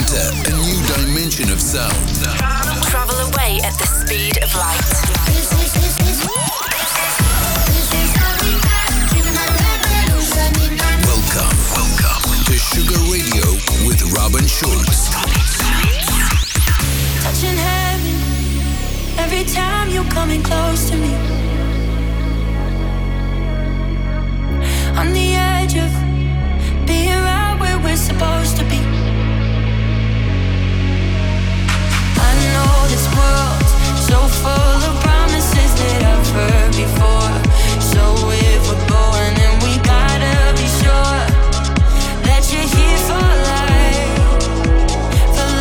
Enter a new dimension of sound. Travel away at the speed of light. Welcome to Sugar Radio with Robin Schulz. Touching heaven every time you're coming close to me. On the edge of being right where we're supposed to be. I know this world's so full of promises that I've heard before. So if we're going, then we gotta be sure that you're here for life, for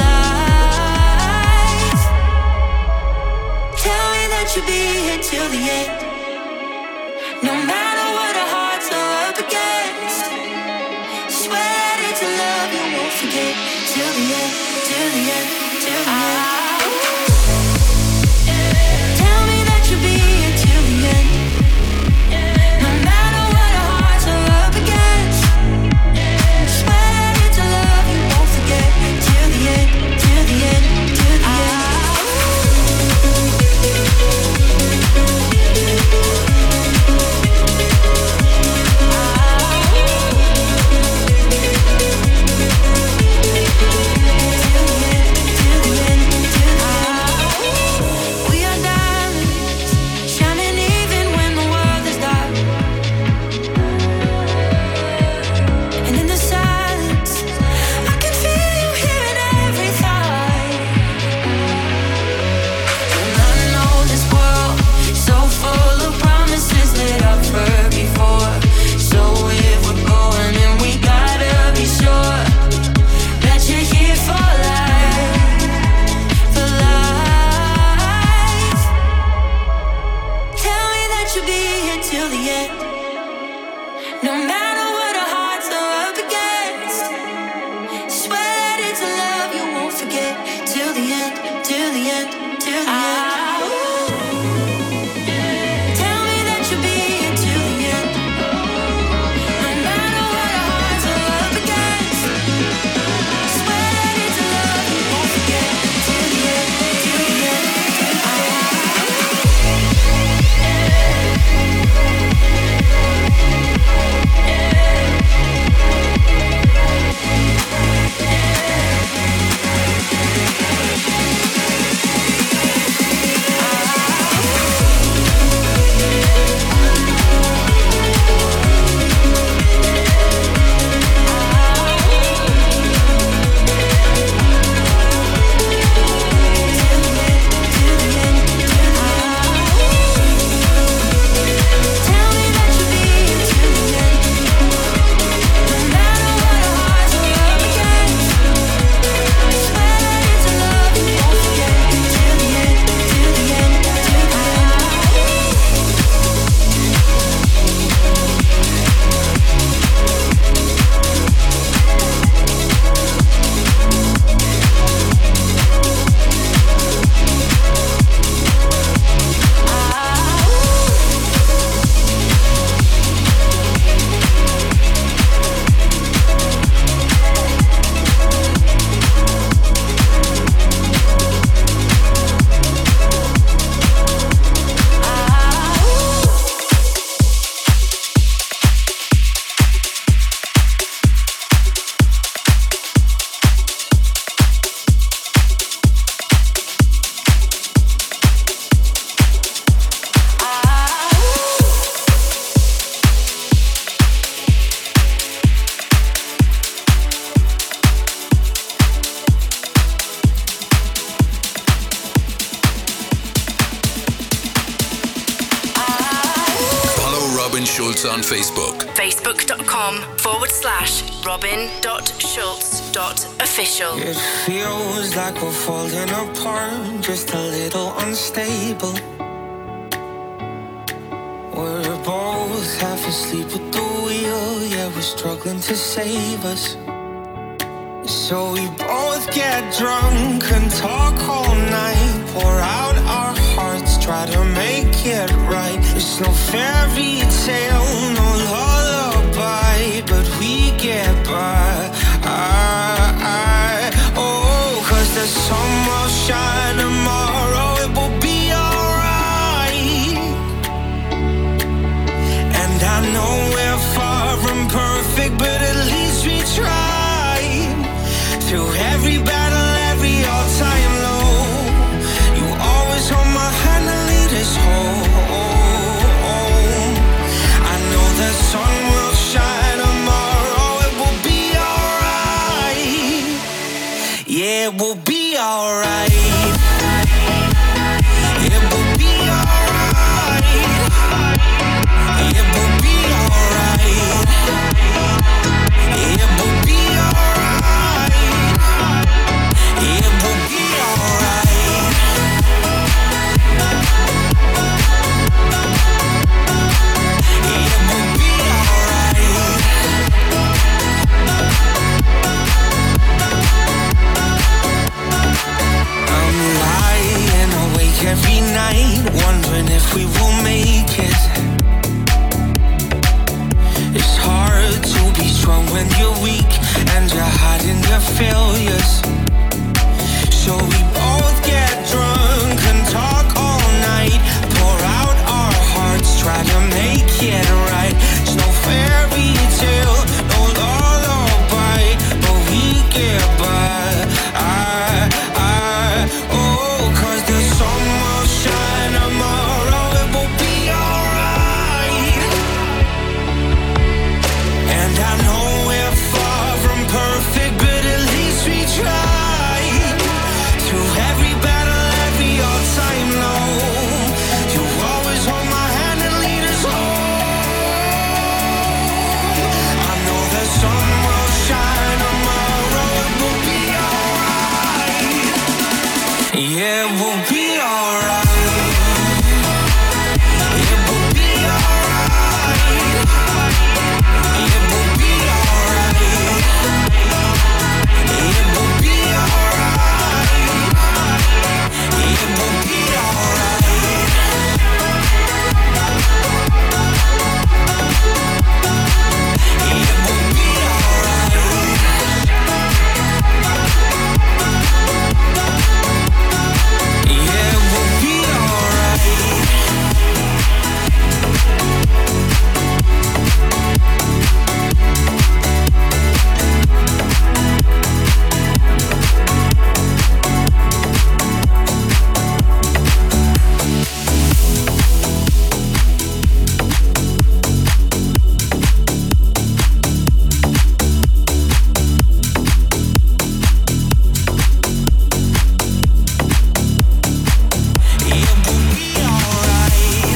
life. Tell me that you'll be here till the end, no matter what our hearts are up against. Swear it's a love you won't forget till the end, till the end, till the end. Tell me that you'll be here till the end, no matter what our hearts are up against. Swear it's a love you won't forget till the end, till the end, till the end. We are diamonds, shining even when the world is dark. And in the silence, I can feel you here in every thought. And I know this world is so full of promises that I've heard before. So if we're going, then we gotta be sure that you're here for life, for life. Tell me that you'll be here till the end, no matter what our hearts are up against. Swear that it's a love you won't forget till the end, till the end, till the end. Tell me that you'll be here till the end, no matter what our hearts are up against. Swear that it's a love you won't forget till the end, till the end, till the end. Tell me that you'll be here till the end, no matter what our hearts are up against. Swear that it's a love you won't forget till the end, till the end, till the end. Follow Robin Schulz on Facebook. Facebook.com/robin.schulz.official. It feels like we're falling apart, just a little unstable. We're both half asleep at the wheel, yeah, we're struggling to save us. So we both get drunk and talk all night, pour out our hearts, try to make it right. It's no fairy tale, no lullaby, but we get by. Oh, from perfect, but at least we tried. Through every battle, every all-time low, you always hold my hand and lead us home. I know the sun will shine tomorrow, it will be alright. Yeah, it will be alright. It will be alright. It will be alright. It will be alright. It will be alright. It will be alright. I'm lying awake every night, wondering if we will make it. It's hard to be strong when you're weak and you're hiding your failures. So we both get drunk and talk all night, pour out our hearts, try to make it right. It's no fairy tale, no lullaby, but we get by. Oh, 'cause the sun will shine tomorrow, it will be alright. And I know we're far from perfect, but at least we tried. Through every battle, every all-time low, you always hold my hand and lead us home. I know the sun will shine tomorrow, it will be alright. Yeah, it will be alright. It will be alright. It will be alright. It will be alright. It will be alright. It will be alright. Yeah, it will be alright. It will be alright.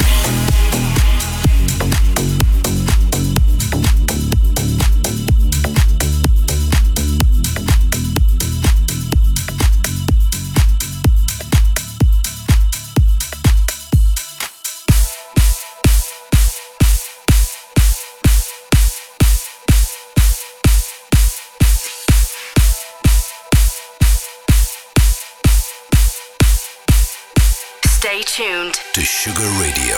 Stay tuned. To Sugar Radio.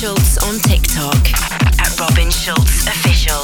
Schulz on TikTok at Robin Schulz Official.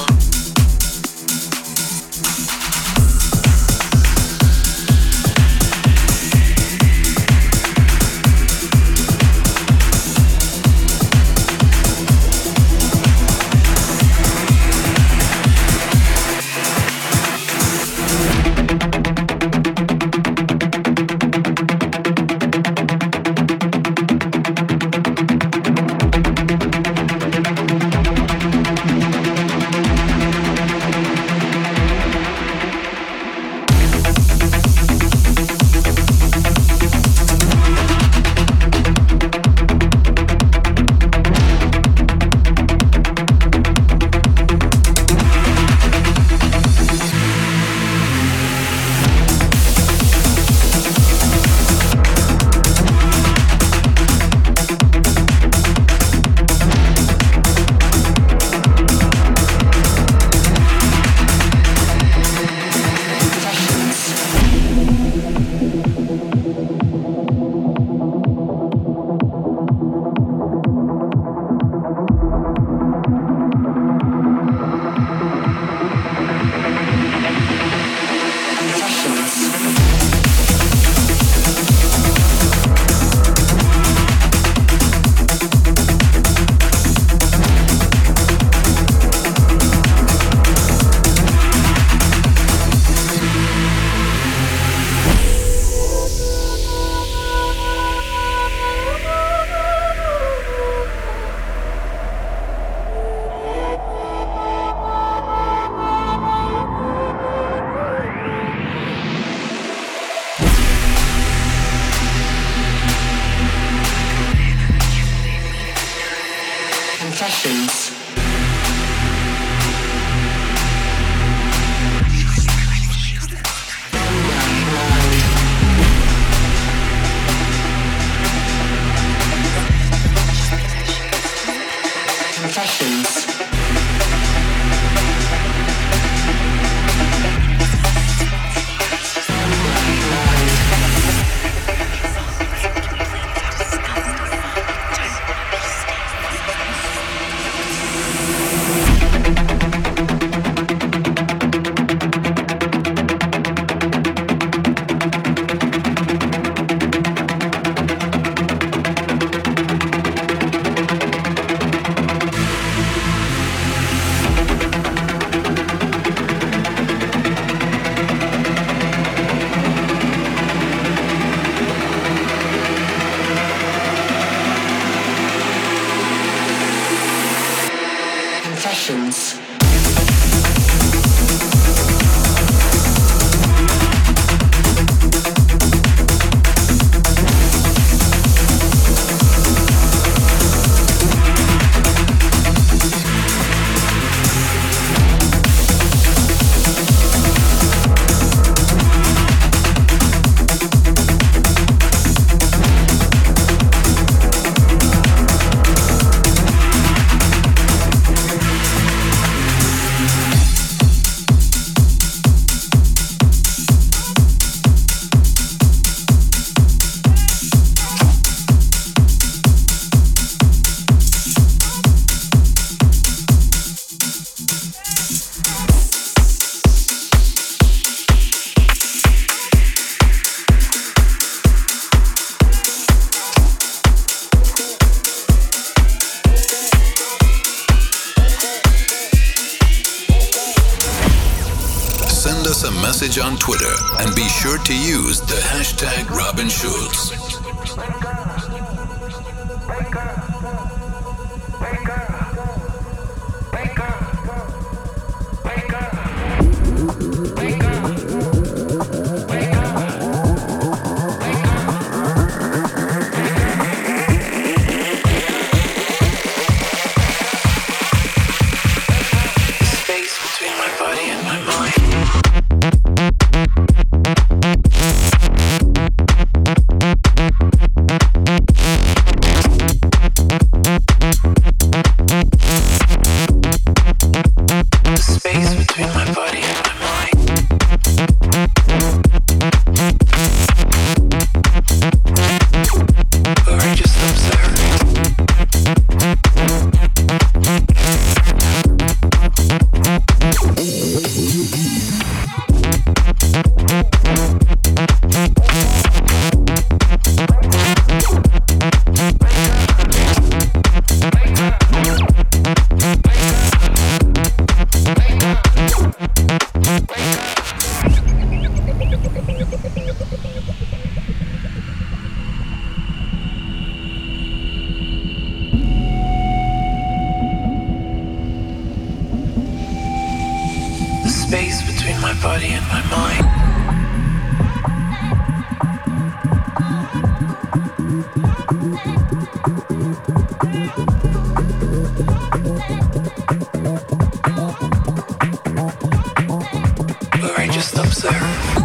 On Twitter and be sure to use the hashtag Robin Schulz. just observe.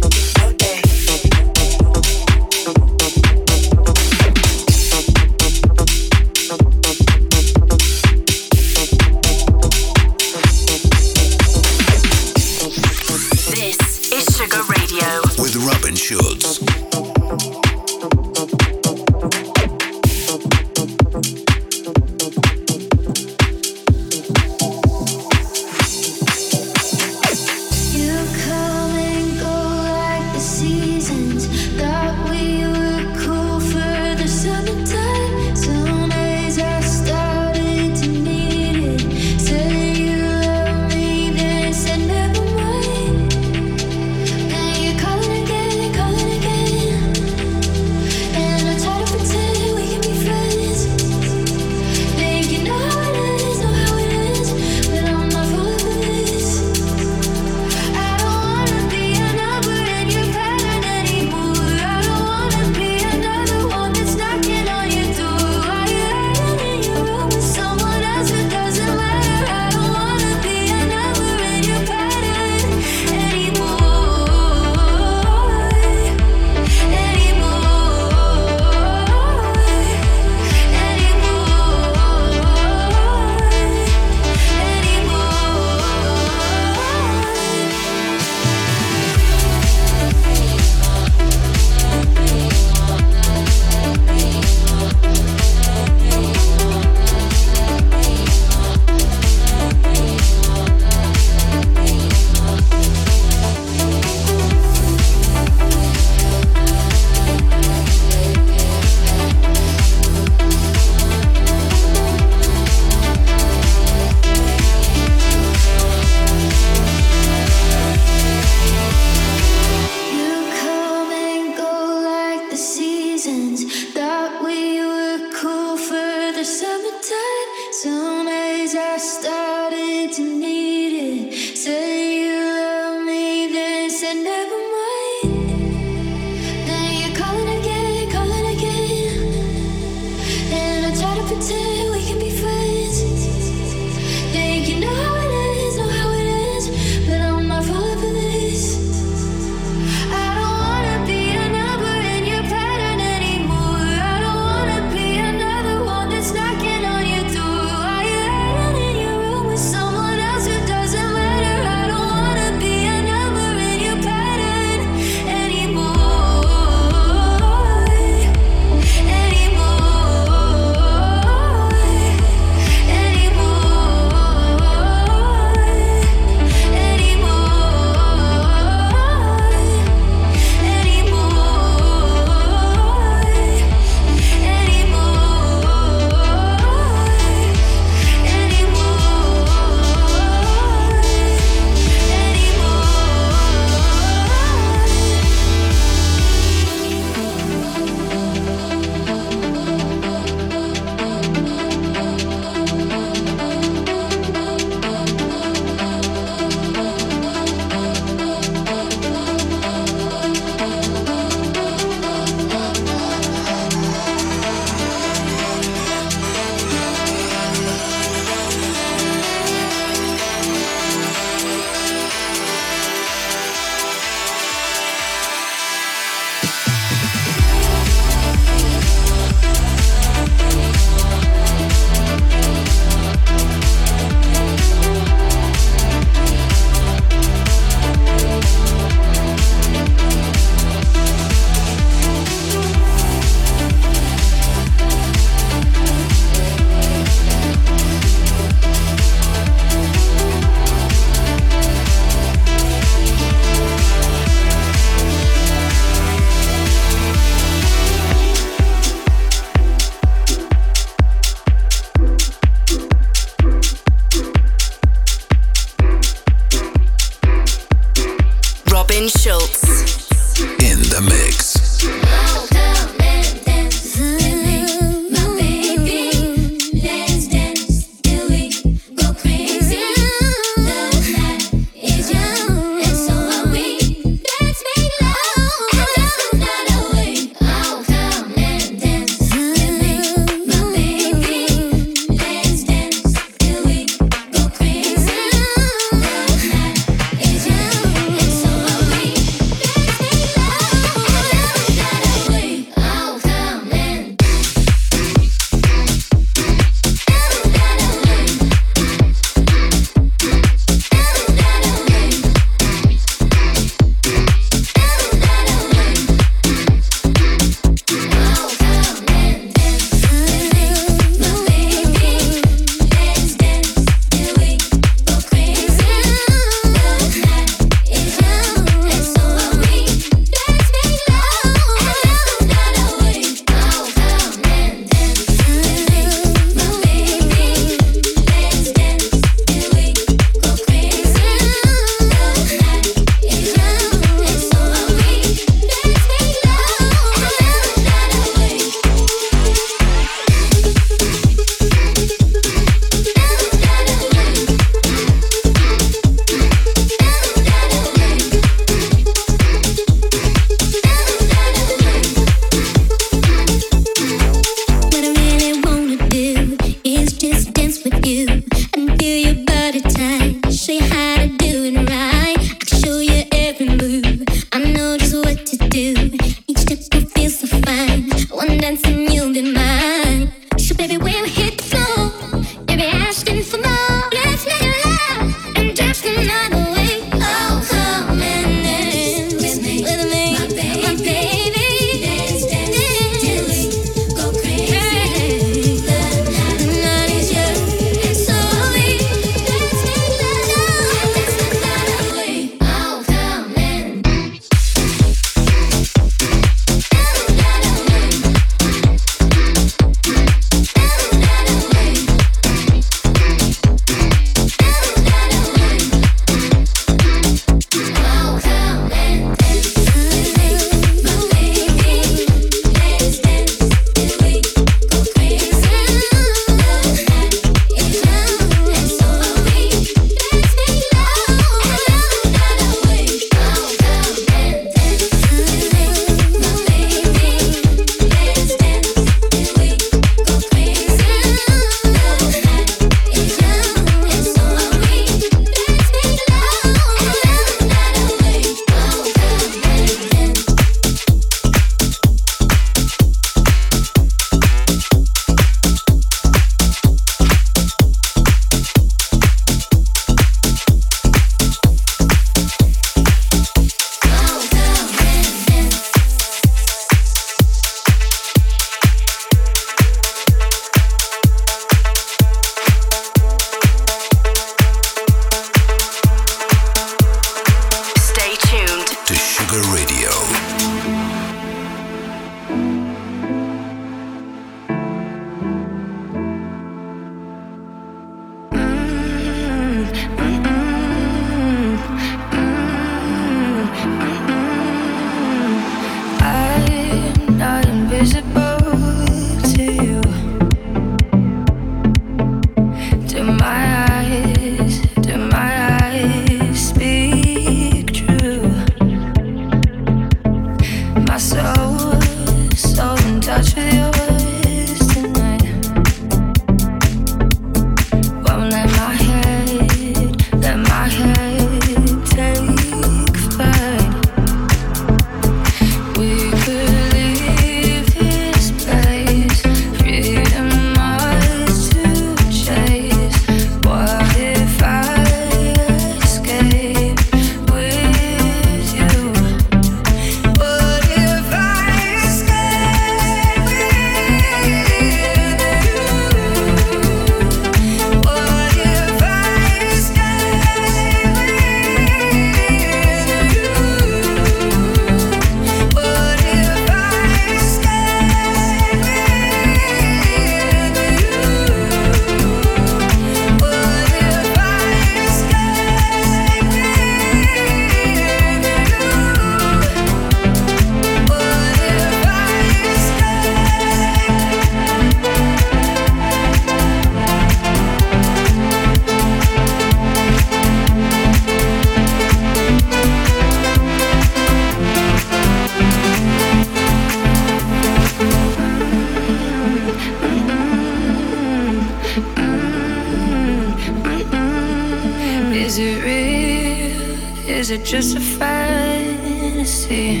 is it just a fantasy?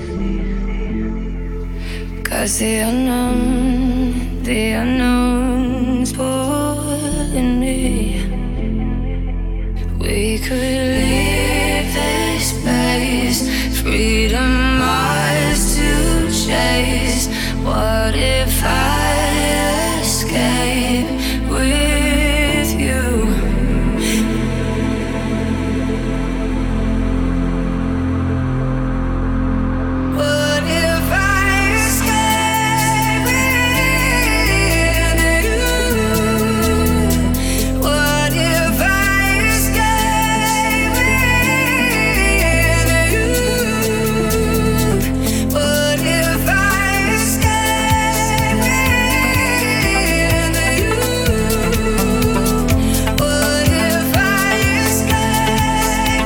'Cause the unknown's pulling me. We could leave this place, freedom ours to chase. What if I escape with you? What if I escape with you? What if I escape with you? What if I escape with you? What if I escape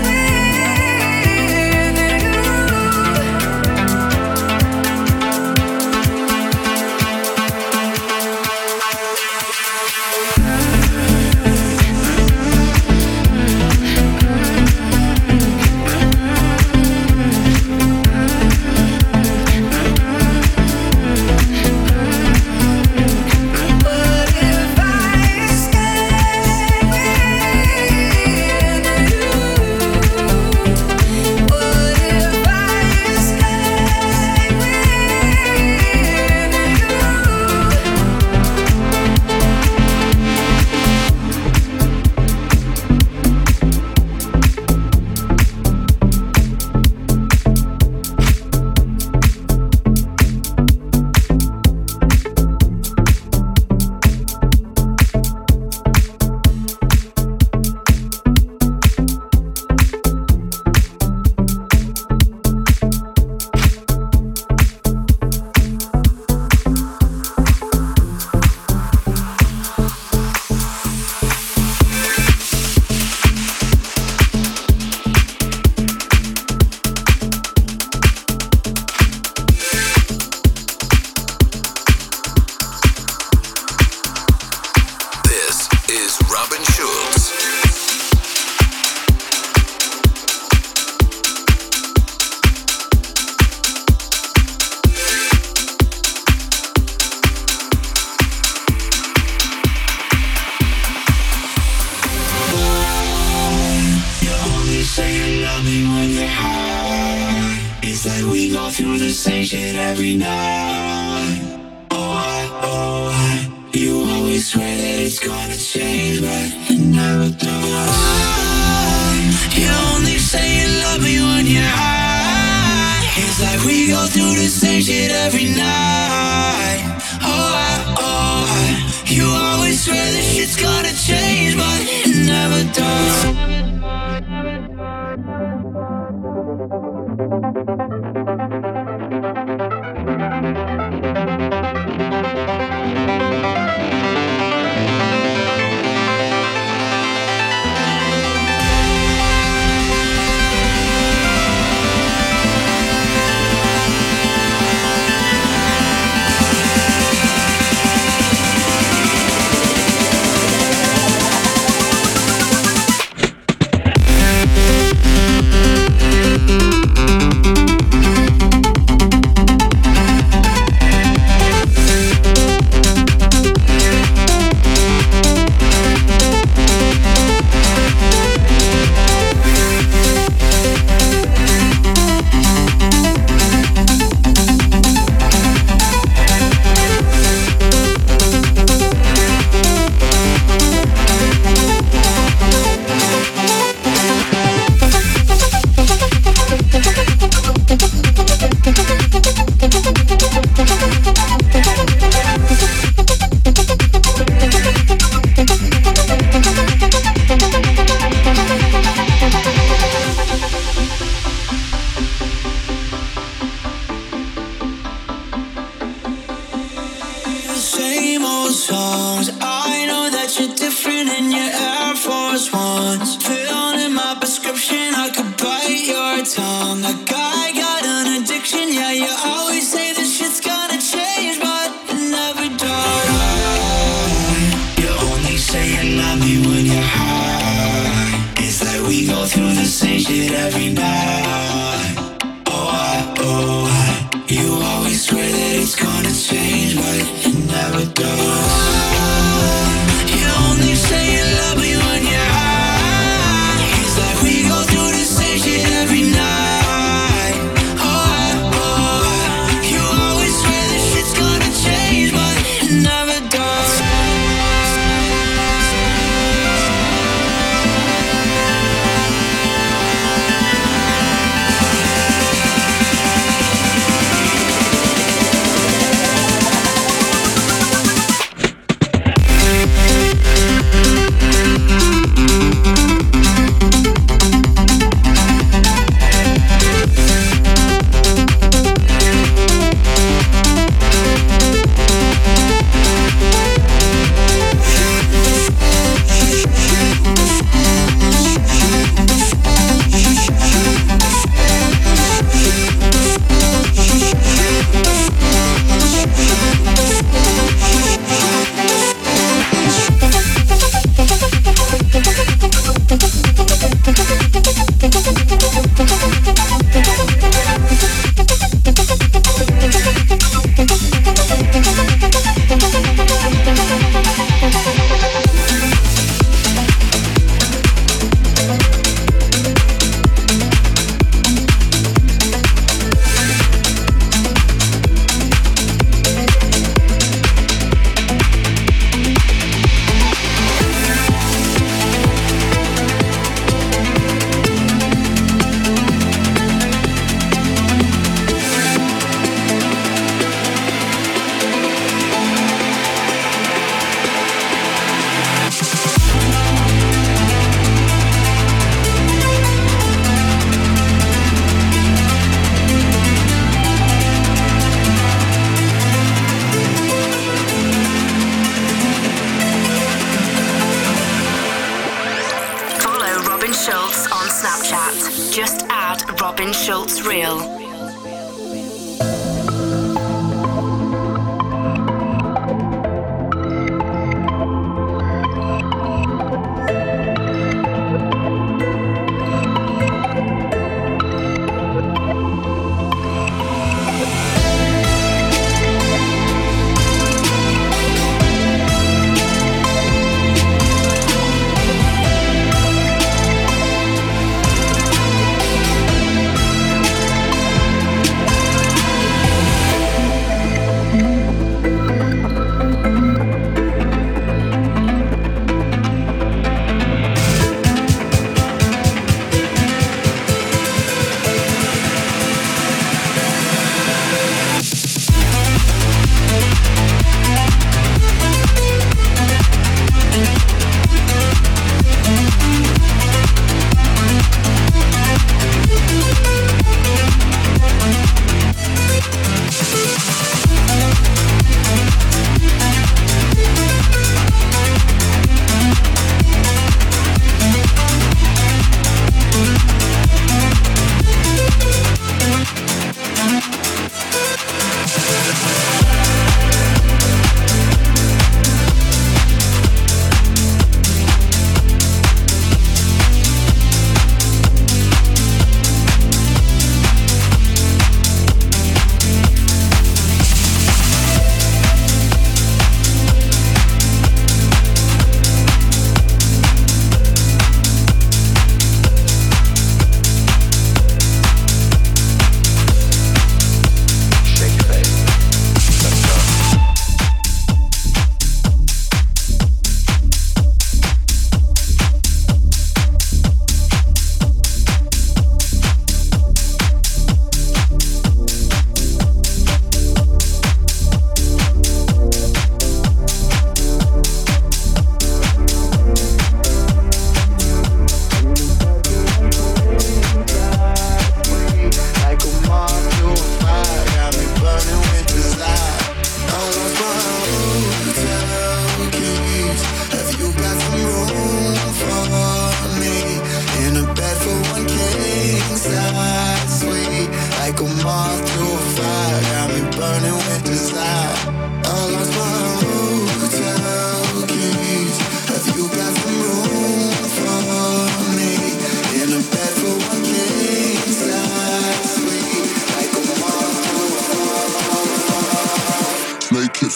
through the stage change it every night. Oh, why? You always swear that it's gonna change, but it never does. You only say you love me when you're high. It's like we go through the same shit every night. Oh, why? You always swear that shit's gonna change, but it never does.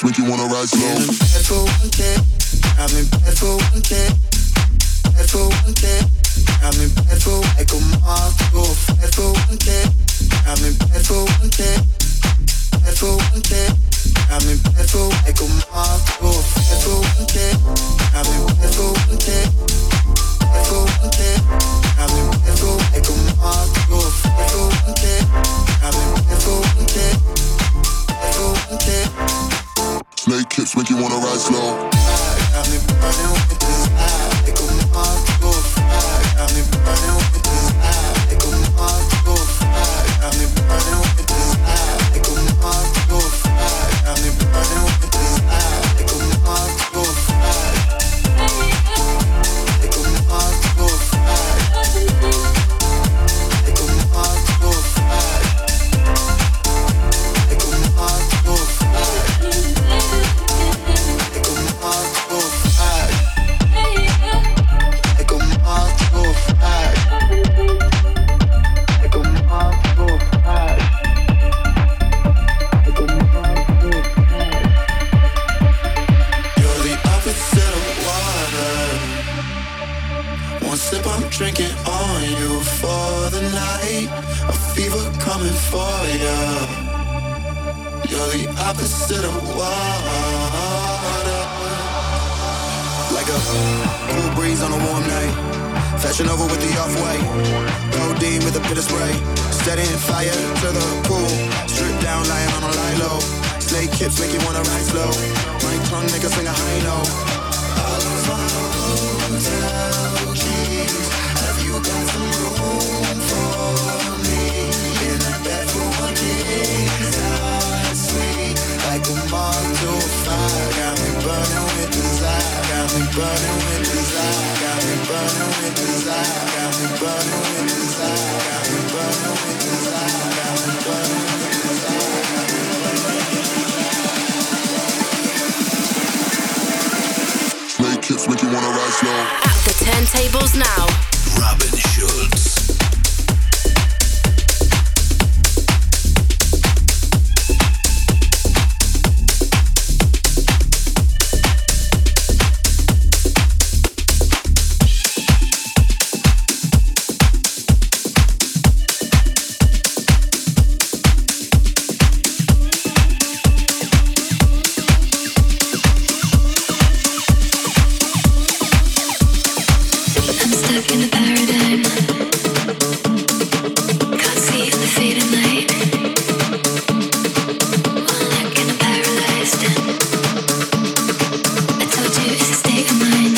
hips make you wanna ride slow. Bad for one day, I'm in bad for one day. Bad for one day, I'm in bad for like a moth. Go bad for one day, I'm in bad for one day. Bad for one day, I'm in bad for like a moth. Go bad for one day, I'm in bad for one day. Bad for one day, I'm in bad for like a moth. Go bad for one day, I'm in bad for one day. Bad for one day. Snake hips make you wanna ride slow. Got me burning with desire, like a moth. Go fire. Got me burning with desire, like a moth. Go fire. Got me burning with desire, like a moth. Go fire. Got me burning with desire, like a moth. Go fire. Like a moth. Go fire. Like a moth. Go fire. Like a moth. Go fire. Like a moth. Go fire. Like a moth. Go fire. Like a moth. Go fire. Like a moth. Go fire. You're the opposite of water. One sip, I'm drinking on you for the night. A fever coming for ya. You're the opposite of water. Like a cool breeze on a warm night. Fashion over with the off-white. Codeine with a bit of spray. Setting fire to the pool. Strip down, lying on a lie low. Snake hips make you wanna ride slow. My tongue make a sing a high note. All of my hotel keys. Have you got some room for me? In a bed for one day. Sweet like a moth to a fire. Got me burning with desire. Got me burning with desire. Got me burning with desire. Got me burning with desire. Got me burning with desire. Got me burning with desire. Snake hips make you wanna ride slow. At the turntables now, Robin Schulz. I'm stuck in a paradigm. Can't see the fading light. One look and I'm paralyzed. I told you it's a state of mind.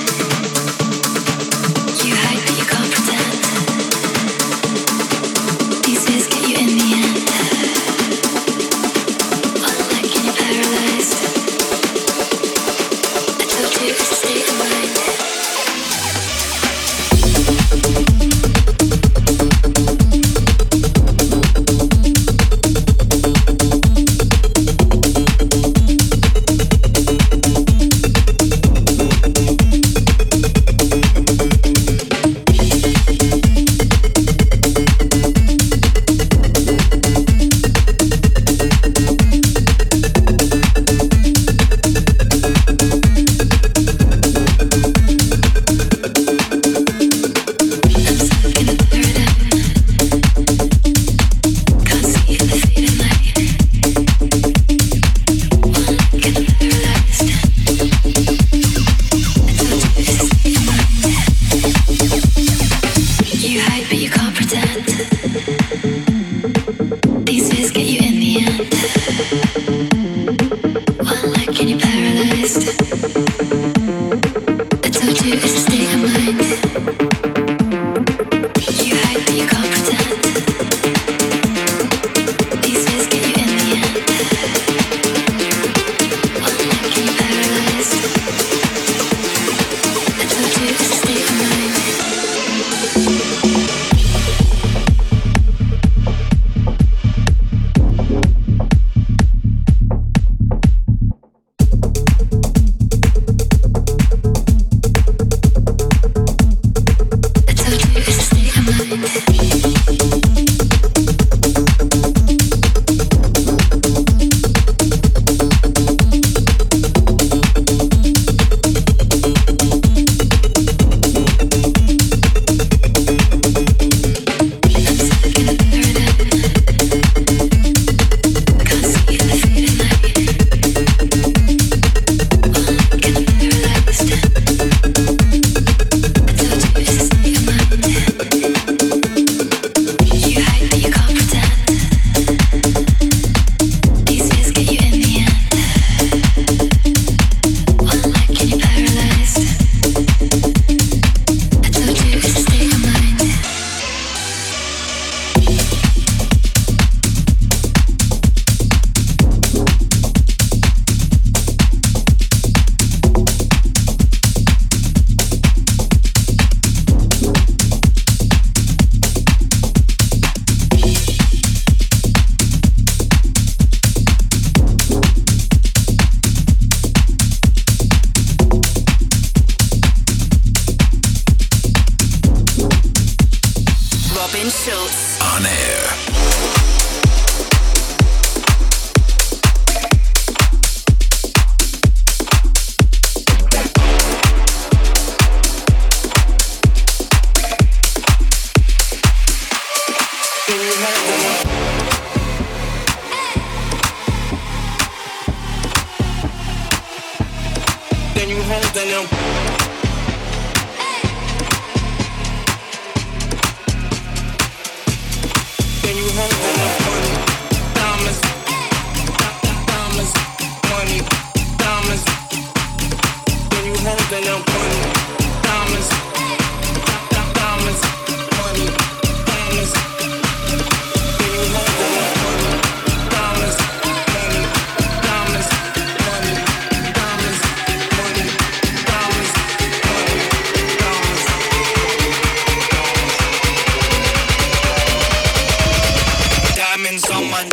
You hide but you can't pretend. These fears get you in the end. One look and you're paralyzed. I told you it's a state of mind. You hide but you can't pretend. These fears get you in the end. One look and you're paralyzed. I told you it's a state of mind. You hide but you can't pretend. These fears get you in the end. One look and you're paralyzed. I told you it's a state of mind. Can you hold them? Can you hold them? Money, diamonds, diamonds, money, diamonds. Can you hold them? Money, diamonds, diamonds, money, diamonds. Can you hold them? Money, diamonds, money, diamonds, money, diamonds, money, diamonds, money, diamonds. Diamonds on my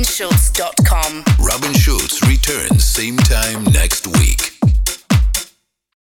robinschulz.com. Robin Schulz returns same time next week.